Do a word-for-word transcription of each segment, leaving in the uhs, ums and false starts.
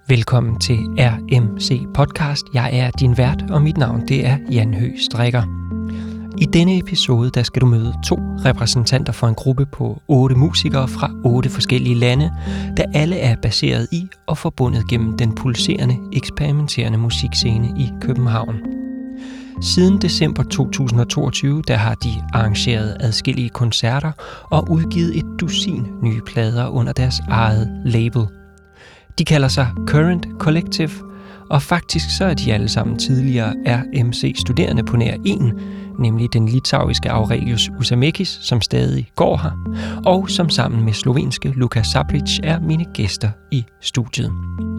Velkommen til R M C Podcast. Jeg er din vært, og mit navn det er Jan Høgh Strikker. I denne episode der skal du møde to repræsentanter for en gruppe på otte musikere fra otte forskellige lande, der alle er baseret i og forbundet gennem den pulserende, eksperimenterende musikscene i København. Siden december to tusind og toogtyve der har de arrangeret adskillige koncerter og udgivet et dusin nye plader under deres eget label. De kalder sig Current Collective, og faktisk så er de alle sammen tidligere R M C-studerende på nær en, nemlig den litauiske Aurelius Usamekis, som stadig går her, og som sammen med slovenske Luka Sabric er mine gæster i studiet.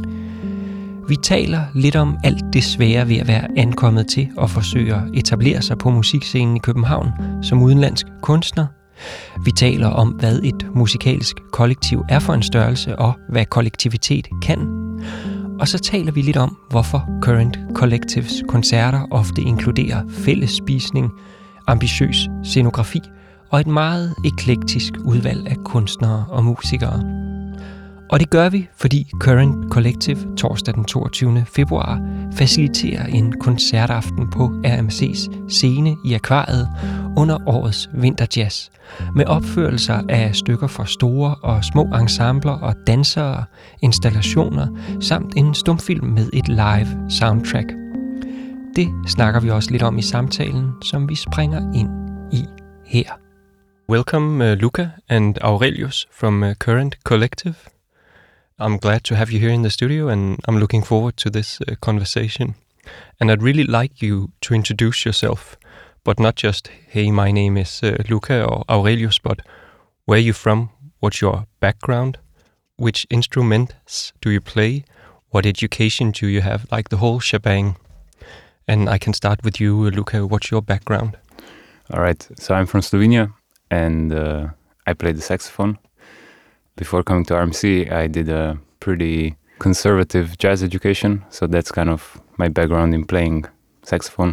Vi taler lidt om alt det svære ved at være ankommet til og forsøge at etablere sig på musikscenen i København som udenlandsk kunstner. Vi taler om, hvad et musikalsk kollektiv er for en størrelse, og hvad kollektivitet kan. Og så taler vi lidt om, hvorfor Current Collectives koncerter ofte inkluderer fælles spisning, ambitiøs scenografi og et meget eklektisk udvalg af kunstnere og musikere. Og det gør vi, fordi Current Collective torsdag den toogtyvende februar faciliterer en koncertaften på R M C's scene i Akvariet under årets vinterjazz, med opførelser af stykker for store og små ensembler og dansere, installationer samt en stumfilm med et live soundtrack. Det snakker vi også lidt om i samtalen, som vi springer ind i her. Welcome uh, Luka and Aurelius from uh, Current Collective. I'm glad to have you here in the studio, and I'm looking forward to this uh, conversation. And I'd really like you to introduce yourself, but not just, hey, my name is uh, Luka or Aurelius, but where are you from, what's your background, which instruments do you play, what education do you have, like the whole shebang. And I can start with you, uh, Luka, what's your background? All right, so I'm from Slovenia, and uh, I play the saxophone. Before coming to R M C, I did a pretty conservative jazz education, so that's kind of my background in playing saxophone.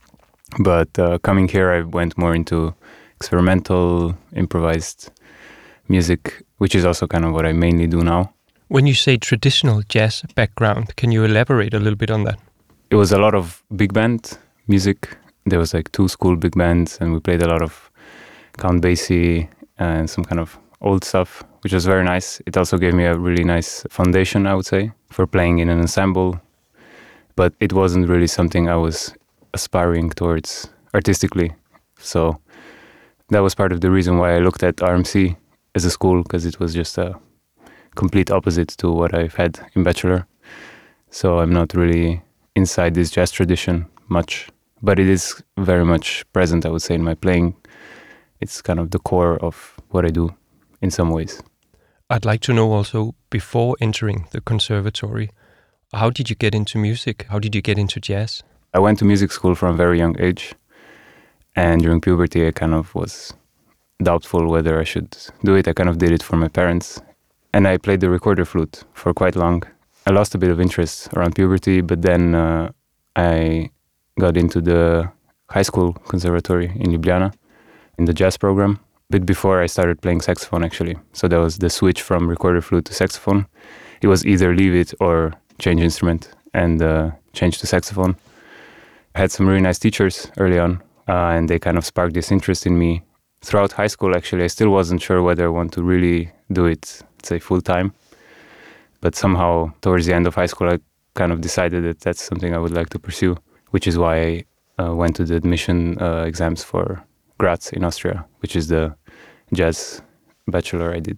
But uh, coming here, I went more into experimental, improvised music, which is also kind of what I mainly do now. When you say traditional jazz background, can you elaborate a little bit on that? It was a lot of big band music. There was like two school big bands, and we played a lot of Count Basie and some kind of old stuff, which was very nice. It also gave me a really nice foundation, I would say, for playing in an ensemble. But it wasn't really something I was aspiring towards artistically. So that was part of the reason why I looked at R M C as a school, because it was just a complete opposite to what I've had in Bachelor. So I'm not really inside this jazz tradition much, but it is very much present, I would say, in my playing. It's kind of the core of what I do in some ways. I'd like to know also, before entering the conservatory, how did you get into music? How did you get into jazz? I went to music school from a very young age, and during puberty I kind of was doubtful whether I should do it. I kind of did it for my parents, and I played the recorder flute for quite long. I lost a bit of interest around puberty, but then uh, I got into the high school conservatory in Ljubljana, in the jazz program, a bit before I started playing saxophone actually. So that was the switch from recorder flute to saxophone. It was either leave it or change instrument, and uh, change to saxophone. I had some really nice teachers early on, uh, and they kind of sparked this interest in me. Throughout high school actually, I still wasn't sure whether I want to really do it, say, full time. But somehow towards the end of high school I kind of decided that that's something I would like to pursue, which is why I uh, went to the admission uh, exams for Graz in Austria, which is the jazz bachelor I did.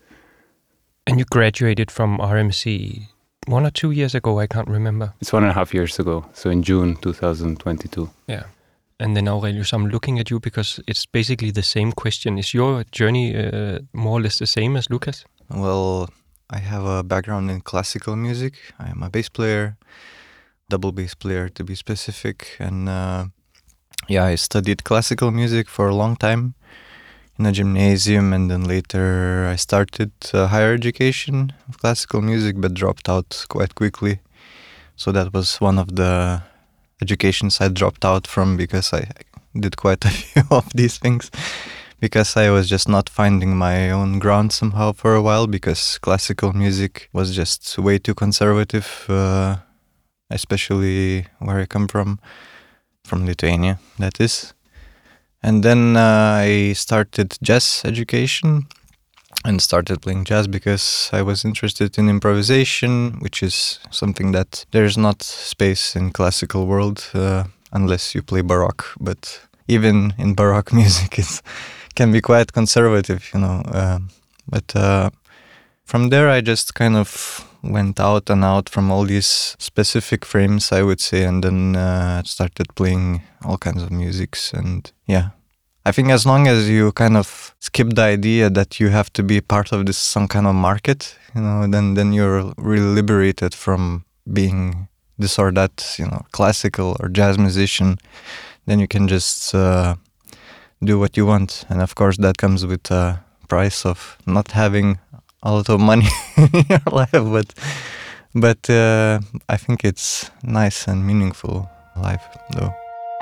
And you graduated from R M C one or two years ago, I can't remember. It's one and a half years ago, so in June two thousand twenty-two. Yeah. And then Aurelius, I'm looking at you because it's basically the same question. Is your journey uh, more or less the same as Lucas? Well, I have a background in classical music. I am a bass player, double bass player to be specific. And uh, yeah, I studied classical music for a long time in a gymnasium, and then later I started uh, higher education of classical music, but dropped out quite quickly. So that was one of the educations I dropped out from, because I did quite a few of these things because I was just not finding my own ground somehow for a while, because classical music was just way too conservative, uh, especially where I come from, from Lithuania, that is. And then uh, I started jazz education and started playing jazz because I was interested in improvisation, which is something that there's not space in classical world uh, unless you play Baroque. But even in Baroque music, it can be quite conservative, you know. Uh, but uh, from there, I just kind of went out and out from all these specific frames, I would say, and then uh, started playing all kinds of musics. And yeah, I think as long as you kind of skip the idea that you have to be part of this some kind of market, you know, then then you're really liberated from being this or that, you know, classical or jazz musician. Then you can just uh, do what you want. And of course, that comes with a price of not having a lot of money in your life. But but uh, I think it's nice and meaningful life, though.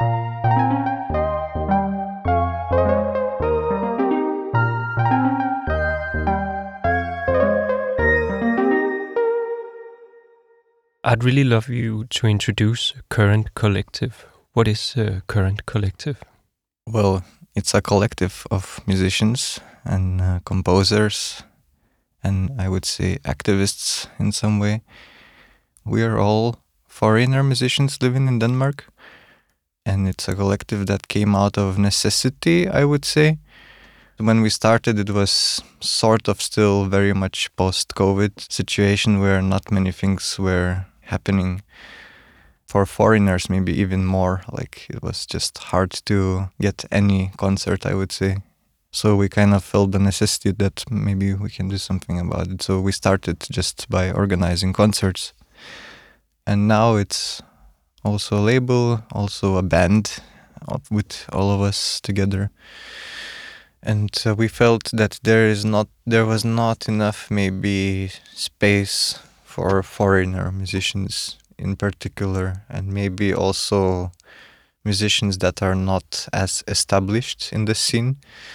I'd really love you to introduce Current Collective. What is uh, Current Collective? Well, it's a collective of musicians and uh, composers, and I would say activists in some way. We are all foreigner musicians living in Denmark, and it's a collective that came out of necessity, I would say. When we started, it was sort of still very much post-COVID situation where not many things were happening. For foreigners, maybe even more, like it was just hard to get any concert, I would say. So we kind of felt the necessity that maybe we can do something about it. So we started just by organizing concerts. And now it's also a label, also a band with all of us together. And uh, we felt that there is not, there was not enough maybe space for foreigner musicians in particular, and maybe also musicians that are not as established in the scene.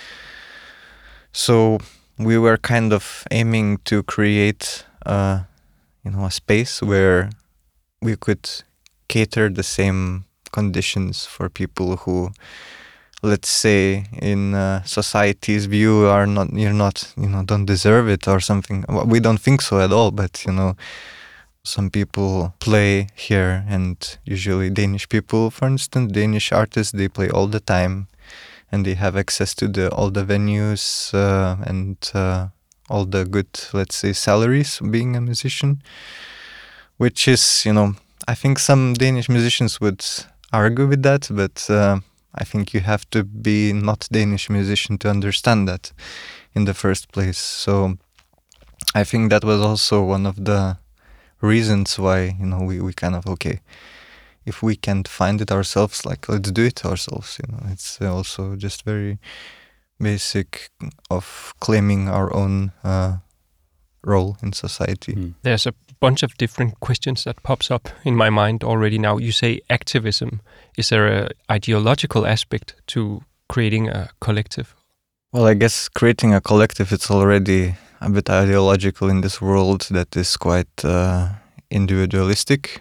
So we were kind of aiming to create, uh, you know, a space where we could cater the same conditions for people who, let's say, in uh, society's view, are not, you're not, you know, don't deserve it or something. We don't think so at all, but you know, some people play here, and usually Danish people, for instance, Danish artists, they play all the time, and they have access to the all the venues uh, and uh, all the good, let's say, salaries being a musician, which is, you know, I think some Danish musicians would argue with that, but uh, I think you have to be not Danish musician to understand that in the first place. So I think that was also one of the reasons why, you know, we, we kind of, okay, if we can't find it ourselves, like, let's do it ourselves, you know. It's also just very basic of claiming our own uh, role in society. Mm. There's a bunch of different questions that pops up in my mind already now. You say activism. Is there an ideological aspect to creating a collective? Well, I guess creating a collective, it's already a bit ideological in this world that is quite uh, individualistic.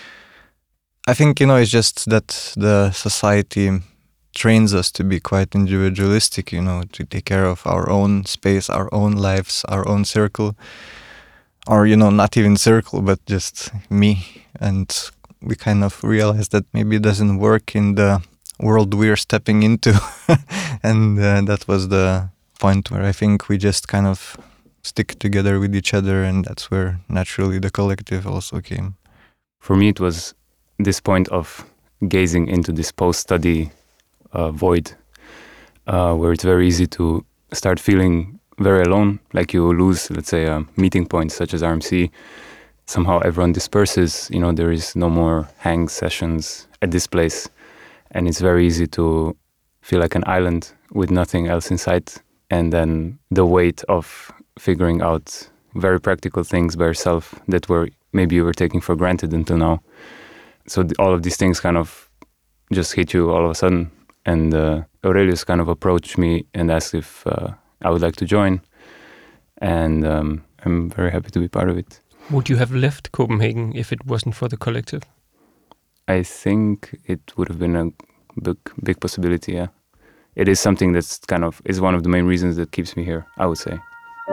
I think, you know, it's just that the society trains us to be quite individualistic, you know, to take care of our own space, our own lives, our own circle, or, you know, not even circle, but just me. And we kind of realize that maybe it doesn't work in the world we're stepping into. And uh, that was the point where I think we just kind of stick together with each other, and that's where naturally the collective also came. For me, it was this point of gazing into this post-study uh, void, uh, where it's very easy to start feeling very alone, like you lose, let's say, a meeting point such as R M C. Somehow everyone disperses, you know, there is no more hang sessions at this place, and it's very easy to feel like an island with nothing else in sight. And then the weight of figuring out very practical things by yourself that were maybe you were taking for granted until now. So th- all of these things kind of just hit you all of a sudden. And uh, Aurelius kind of approached me and asked if uh, I would like to join. And um, I'm very happy to be part of it. Would you have left Copenhagen if it wasn't for the collective? I think it would have been a big, big possibility, yeah. It is something that's kind of, is one of the main reasons that keeps me here, I would say.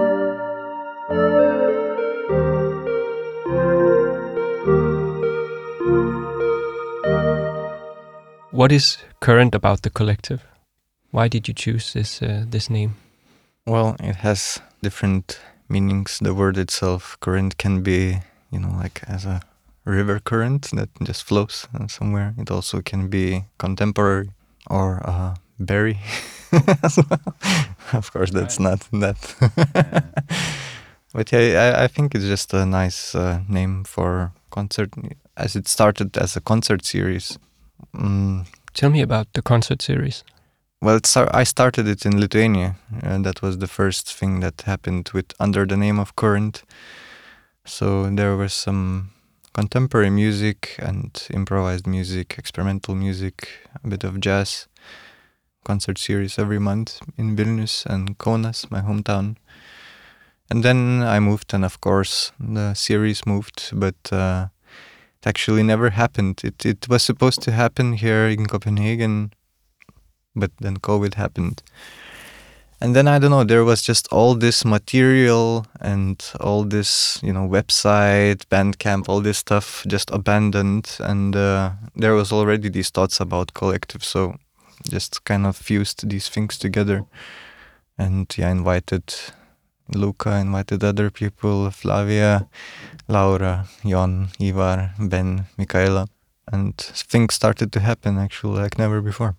What is current about the collective? Why did you choose this uh, this name? Well, it has different meanings. The word itself, current, can be, you know, like as a river current that just flows somewhere. It also can be contemporary or a berry as well. Of course, that's right. Not that. But yeah, I, I think it's just a nice uh, name for concert, as it started as a concert series. Mm. Tell me about the concert series. Well, it's, I started it in Lithuania, and that was the first thing that happened with under the name of Current. So there was some contemporary music and improvised music, experimental music, a bit of jazz. Concert series every month in Vilnius and Kaunas, my hometown. And then I moved, and of course the series moved, but uh, it actually never happened. It it was supposed to happen here in Copenhagen, but then COVID happened. And then, I don't know, there was just all this material and all this, you know, website, Bandcamp, all this stuff just abandoned. And uh, there was already these thoughts about collective, so just kind of fused these things together. And yeah, invited Luca, invited other people, Flavia, Laura, Jon, Ivar, Ben, Michaela. And things started to happen actually like never before.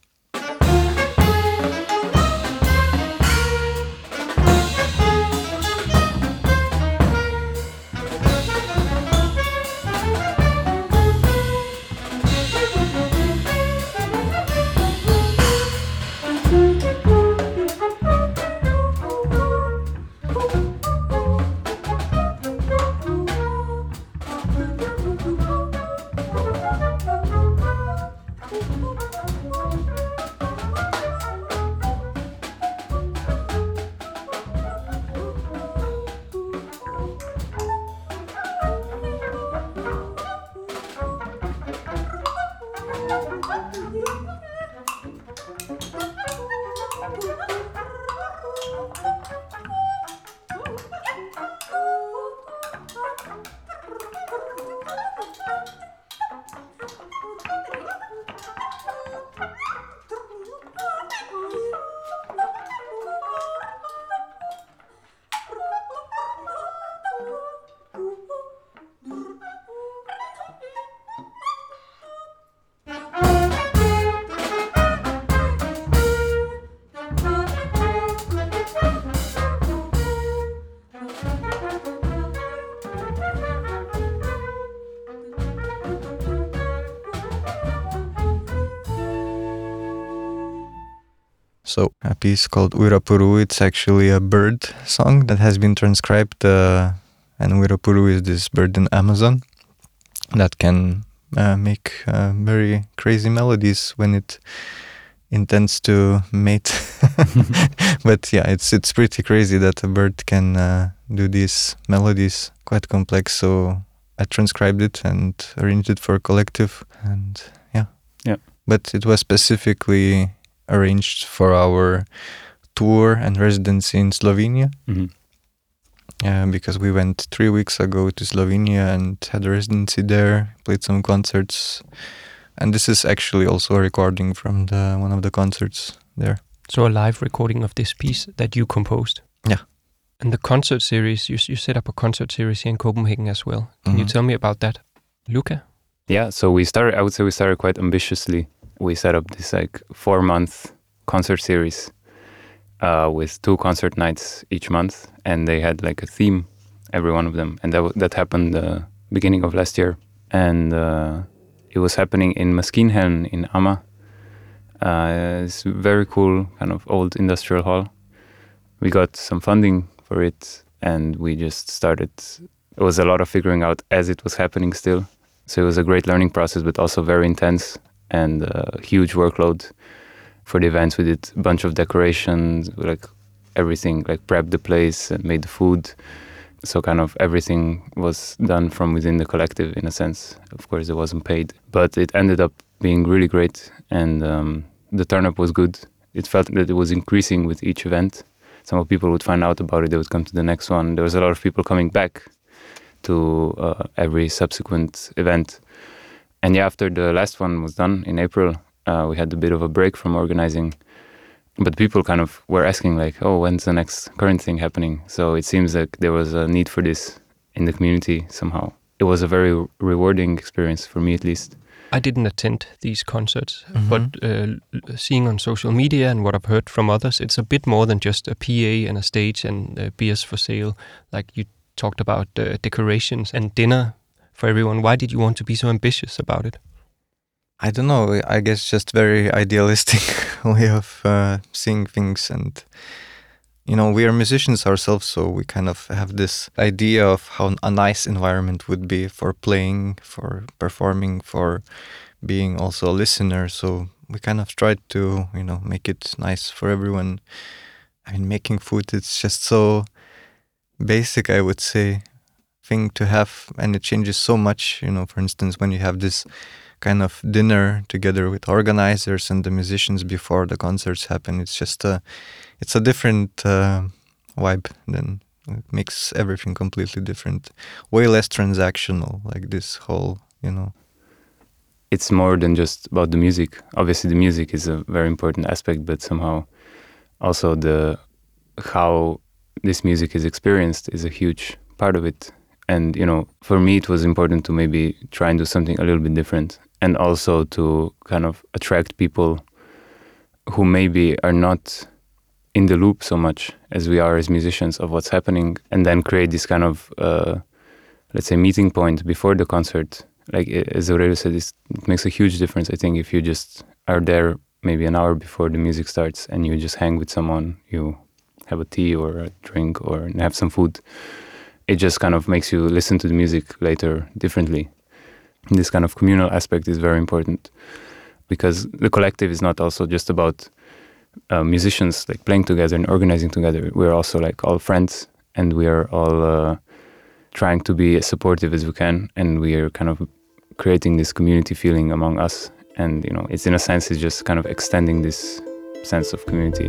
So a piece called Uirapuru, it's actually a bird song that has been transcribed, uh, and Uirapuru is this bird in Amazon that can uh, make uh, very crazy melodies when it intends to mate. But yeah, it's it's pretty crazy that a bird can uh, do these melodies, quite complex. So I transcribed it and arranged it for a collective, and yeah. Yeah. But it was specifically arranged for our tour and residency in Slovenia. Mm-hmm. Uh, because we went three weeks ago to Slovenia and had a residency there, played some concerts. And this is actually also a recording from the one of the concerts there. So a live recording of this piece that you composed? Yeah. And the concert series, you, you set up a concert series here in Copenhagen as well. Can mm-hmm. you tell me about that? Luca? Yeah, so we started, I would say we started quite ambitiously. We set up this like four-month concert series uh, with two concert nights each month, and they had like a theme, every one of them. And that w- that happened uh, beginning of last year. And uh, it was happening in Maskinhallen in Amma. Uh, it's a very cool kind of old industrial hall. We got some funding for it, and we just started. It was a lot of figuring out as it was happening still. So it was a great learning process, but also very intense and a huge workload. for the events. We did a bunch of decorations, like everything, like prepped the place and made the food. So kind of everything was done from within the collective in a sense. Of course, it wasn't paid, but it ended up being really great, and um, the turn-up was good. It felt that it was increasing with each event. Some people would find out about it, they would come to the next one. There was a lot of people coming back to uh, every subsequent event. And yeah, after the last one was done in April, uh, we had a bit of a break from organizing. But people kind of were asking like, oh, when's the next current thing happening? So it seems like there was a need for this in the community somehow. It was a very rewarding experience for me, at least. I didn't attend these concerts, Mm-hmm. but uh, seeing on social media and what I've heard from others, it's a bit more than just a P A and a stage and uh, beers for sale. Like you talked about uh, decorations and dinner for everyone. Why did you want to be so ambitious about it? I don't know. I guess just very idealistic way of uh, seeing things, and you know, we are musicians ourselves, so we kind of have this idea of how a nice environment would be for playing, for performing, for being also a listener. So we kind of tried to, you know, make it nice for everyone. I mean, making food, it's just so basic, I would say, thing to have, and it changes so much. You know, for instance, when you have this kind of dinner together with organizers and the musicians before the concerts happen, it's just a it's a different uh, vibe. Then it makes everything completely different, way less transactional, like this whole, you know. It's more than just about the music. Obviously the music is a very important aspect, but somehow also the how this music is experienced is a huge part of it. And you know, for me it was important to maybe try and do something a little bit different, and also to kind of attract people who maybe are not in the loop so much as we are as musicians of what's happening, and then create this kind of, uh, let's say, meeting point before the concert. Like as Aurelio said, it makes a huge difference, I think, if you just are there maybe an hour before the music starts and you just hang with someone, you have a tea or a drink or have some food. It just kind of makes you listen to the music later differently. This kind of communal aspect is very important, because the collective is not also just about uh, musicians like playing together and organizing together. We're also like all friends, and we are all uh, trying to be as supportive as we can, and we are kind of creating this community feeling among us. And you know, it's in a sense, it's just kind of extending this sense of community.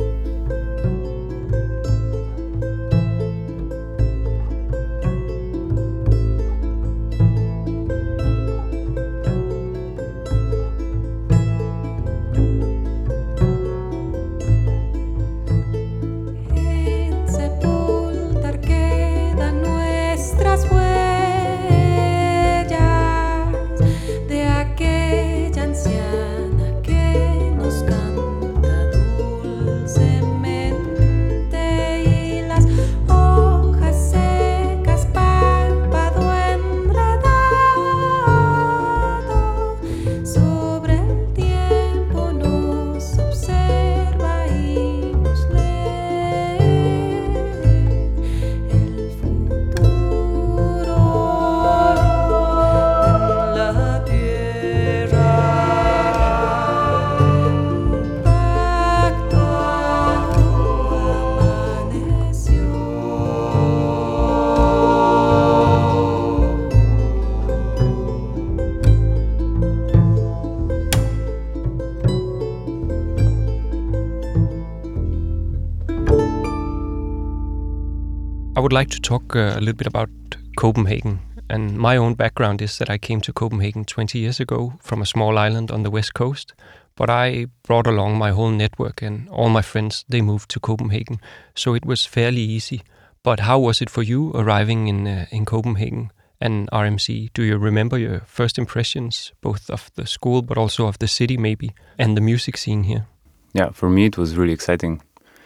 I would like to talk uh, a little bit about Copenhagen. And my own background is that I came to Copenhagen twenty years ago from a small island on the west coast. But I brought along my whole network, and all my friends, they moved to Copenhagen. So it was fairly easy. But how was it for you arriving in uh, in Copenhagen and R M C? Do you remember your first impressions, both of the school but also of the city maybe, and the music scene here? Yeah, for me it was really exciting.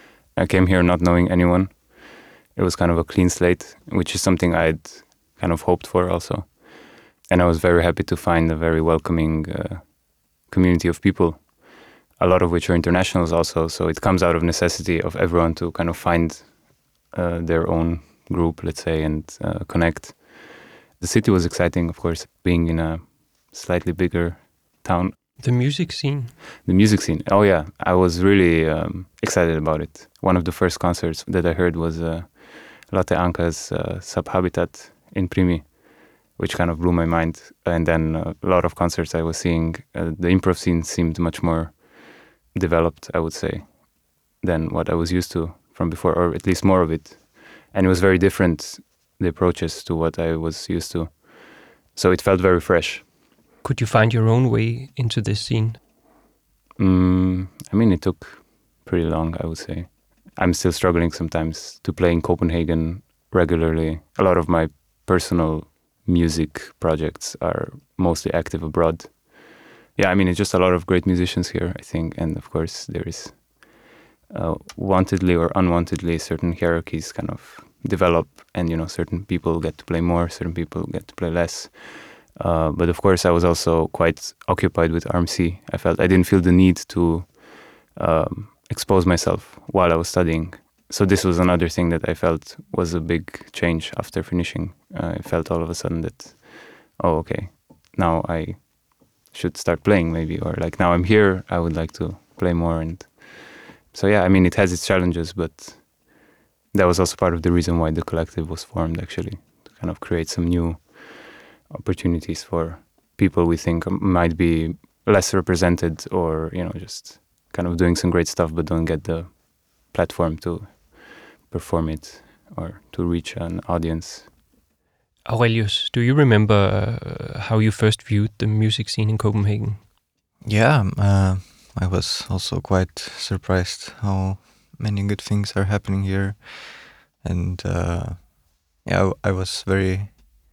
I came here not knowing anyone. It was kind of a clean slate, which is something I'd kind of hoped for also. And I was very happy to find a very welcoming uh, community of people, a lot of which are internationals also. So it comes out of necessity of everyone to kind of find uh, their own group, let's say, and uh, connect. The city was exciting, of course, being in a slightly bigger town. The music scene? The music scene. Oh yeah, I was really um, excited about it. One of the first concerts that I heard was uh, Lotte Anka's uh, Subhabitat in Primi, which kind of blew my mind. And then uh, a lot of concerts I was seeing, uh, the improv scene seemed much more developed, I would say, than what I was used to from before, or at least more of it. And it was very different, the approaches to what I was used to. So it felt very fresh. Could you find your own way into this scene? Mm, I mean, it took pretty long, I would say. I'm still struggling sometimes to play in Copenhagen regularly. A lot of my personal music projects are mostly active abroad. Yeah, I mean, it's just a lot of great musicians here, I think. And of course, there is uh, wantedly or unwantedly certain hierarchies kind of develop. And, you know, certain people get to play more, certain people get to play less. Uh, but of course, I was also quite occupied with R M C. I felt I didn't feel the need to um, expose myself while I was studying. So this was another thing that I felt was a big change after finishing. Uh, I felt all of a sudden that, oh, okay, now I should start playing maybe, or like now I'm here, I would like to play more. And so, yeah, I mean, it has its challenges, but that was also part of the reason why the collective was formed, actually, to kind of create some new opportunities for people we think might be less represented, or, you know, just kind of doing some great stuff but don't get the platform to perform it or to reach an audience. Aurelius, do you remember uh, how you first viewed the music scene in Copenhagen? Yeah, uh, I was also quite surprised how many good things are happening here. And uh, yeah, I was very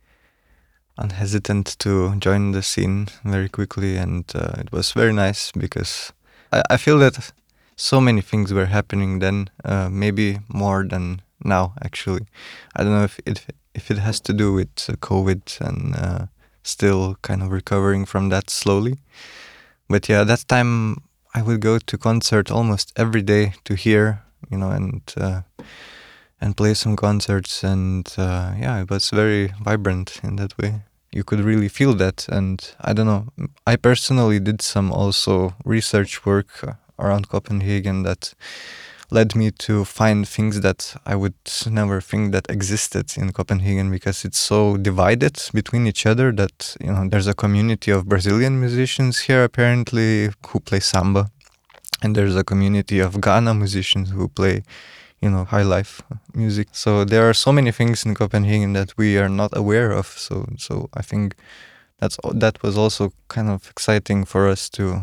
unhesitant to join the scene very quickly, and uh, it was very nice because I, I feel that so many things were happening then, uh, maybe more than now, actually. I don't know if it if it has to do with uh, COVID and uh, still kind of recovering from that slowly. But yeah, that time I would go to concert almost every day to hear, you know, and uh, and play some concerts, and uh, yeah, it was very vibrant in that way. You could really feel that, and I don't know, I personally did some also research work around Copenhagen that led me to find things that I would never think that existed in Copenhagen, because it's so divided between each other that, you know, there's a community of Brazilian musicians here apparently who play samba, and there's a community of Ghana musicians who play, you know, high life music. So there are so many things in Copenhagen that we are not aware of. So so I think that's that was also kind of exciting for us to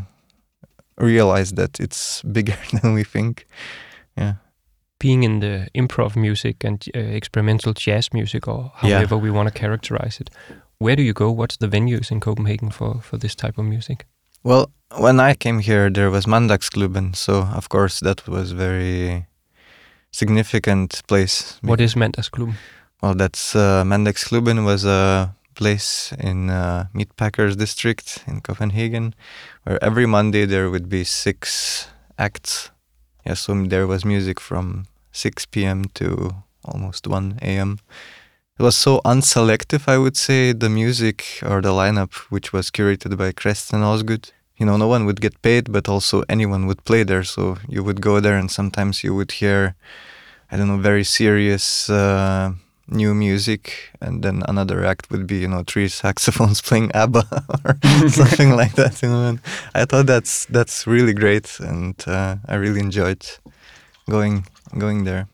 realize that it's bigger than we think. Yeah. Being in the improv music and uh, experimental jazz music, or however yeah. we want to characterize it, where do you go? What's the venues in Copenhagen for, for this type of music? Well, when I came here, there was Mandagsklubben. So, of course, that was very significant place. What is Mandagsklubben? Well, that's uh, Mandagsklubben was a place in uh, Meatpackers district in Copenhagen, where every Monday there would be six acts. Yeah, so there was music from six p.m. to almost one a.m. It was so unselective, I would say, the music or the lineup, which was curated by Kresten Osgood. You know, no one would get paid, but also anyone would play there. So you would go there and sometimes you would hear, I don't know, very serious uh, new music. And then another act would be, you know, three saxophones playing ABBA or something like that. You know, and I thought that's that's really great. And uh, I really enjoyed going going there.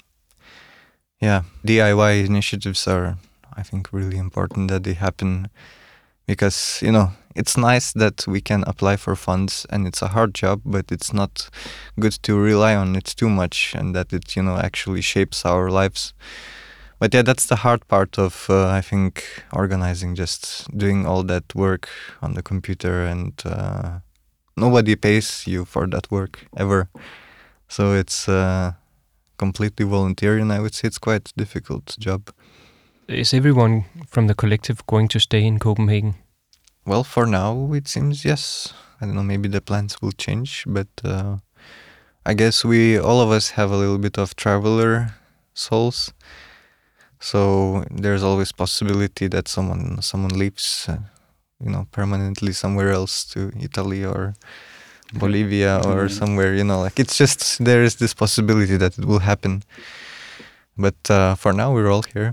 Yeah, D I Y initiatives are, I think, really important that they happen, because, you know, it's nice that we can apply for funds, and it's a hard job, but it's not good to rely on it too much, and that it, you know, actually shapes our lives. But yeah, that's the hard part of, uh, I think, organizing, just doing all that work on the computer, and uh, nobody pays you for that work ever. So it's uh, completely voluntary, and I would say it's quite a difficult job. Is everyone from the collective going to stay in Copenhagen? Well, for now, it seems yes. I don't know, maybe the plans will change, but uh, I guess we, all of us, have a little bit of traveler souls. So there's always possibility that someone someone leaves. Uh, you know, permanently somewhere else to Italy or Bolivia or mm-hmm. somewhere, you know, like it's just, there is this possibility that it will happen. But uh, for now, we're all here.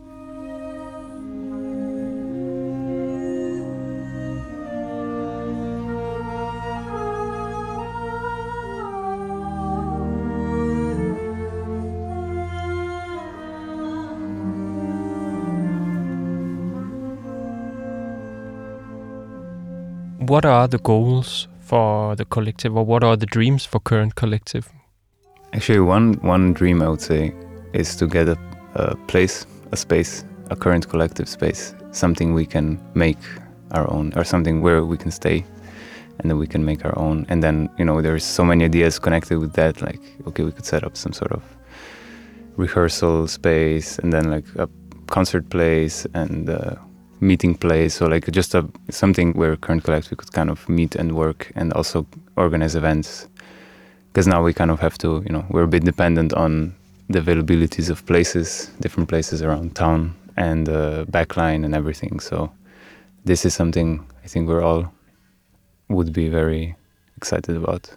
What are the goals for the collective, or what are the dreams for Current Collective? Actually, one one dream I would say is to get a, a place, a space, a Current Collective space, something we can make our own, or something where we can stay and then we can make our own. And then, you know, there's so many ideas connected with that, like, okay, we could set up some sort of rehearsal space and then like a concert place and uh, meeting place, so like just a something where Current Collective could kind of meet and work and also organize events. Because now we kind of have to, you know, we're a bit dependent on the availabilities of places, different places around town and uh, backline and everything. So this is something I think we're all would be very excited about.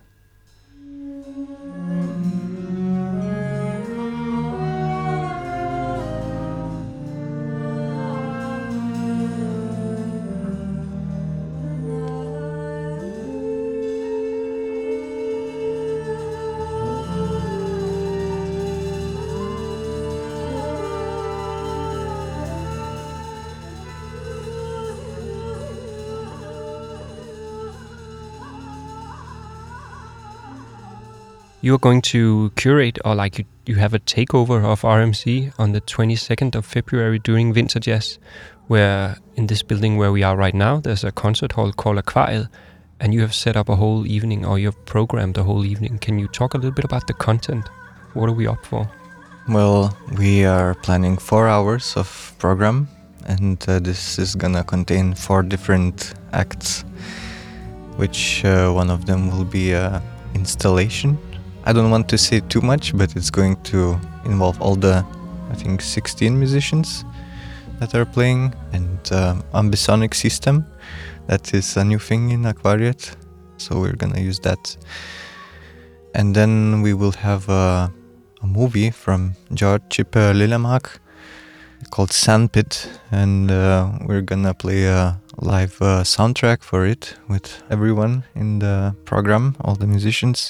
You're going to curate, or like you, you have a takeover of R M C on the twenty-second of February during Winter Jazz, where in this building where we are right now, there's a concert hall called Akvariet, and you have set up a whole evening, or you've programmed a whole evening. Can you talk a little bit about the content? What are we up for? Well, we are planning four hours of program, and uh, this is gonna contain four different acts, which uh, one of them will be a installation. I don't want to say too much, but it's going to involve all the, I think, sixteen musicians that are playing, and um, ambisonic system. That is a new thing in Akvariet, so we're gonna use that. And then we will have a, a movie from George Cipe Lillemark called Sandpit, and uh, we're gonna play a live uh, soundtrack for it with everyone in the program, all the musicians.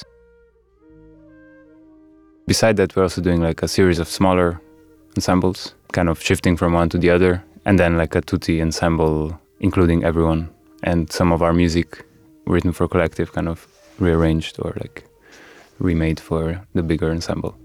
Beside that, we're also doing like a series of smaller ensembles, kind of shifting from one to the other, and then like a tutti ensemble, including everyone, and some of our music written for Collective kind of rearranged or like remade for the bigger ensemble.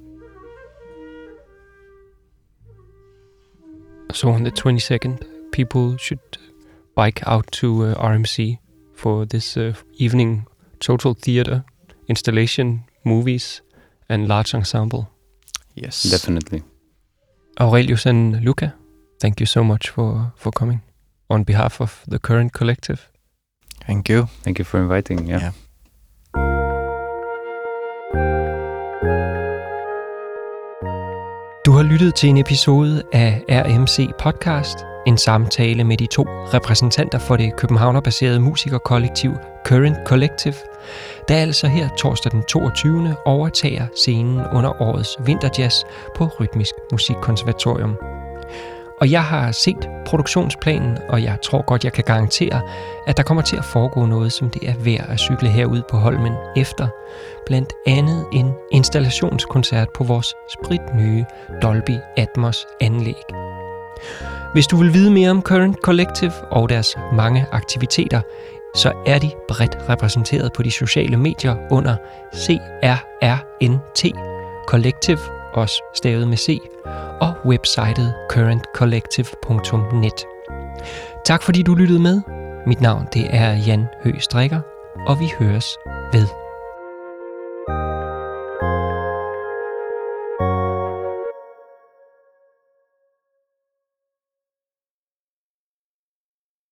So on the twenty-second, people should bike out to uh, R M C for this uh, evening total theater, installation, movies, and large ensemble. Yes, definitely. Aurelius and Luca, thank you so much for, for coming on behalf of the Current Collective. Thank you. Thank you for inviting. Yeah. yeah. Du har lyttet til en episode af R M C Podcast, en samtale med de to repræsentanter for det københavnerbaserede musikerkollektiv Current Collective, der altså her torsdag den toogtyvende overtager scenen under årets Vinterjazz på Rytmisk Musikkonservatorium. Og jeg har set produktionsplanen, og jeg tror godt, jeg kan garantere, at der kommer til at foregå noget, som det er værd at cykle herude på Holmen efter. Blandt andet en installationskoncert på vores spritnye Dolby Atmos anlæg. Hvis du vil vide mere om Current Collective og deres mange aktiviteter, så er de bredt repræsenteret på de sociale medier under C R R N T Collective, også stavet med C, og websitet current collective punktum net. Tak fordi du lyttede med. Mit navn det er Jan Høgh Strikker, og vi høres ved.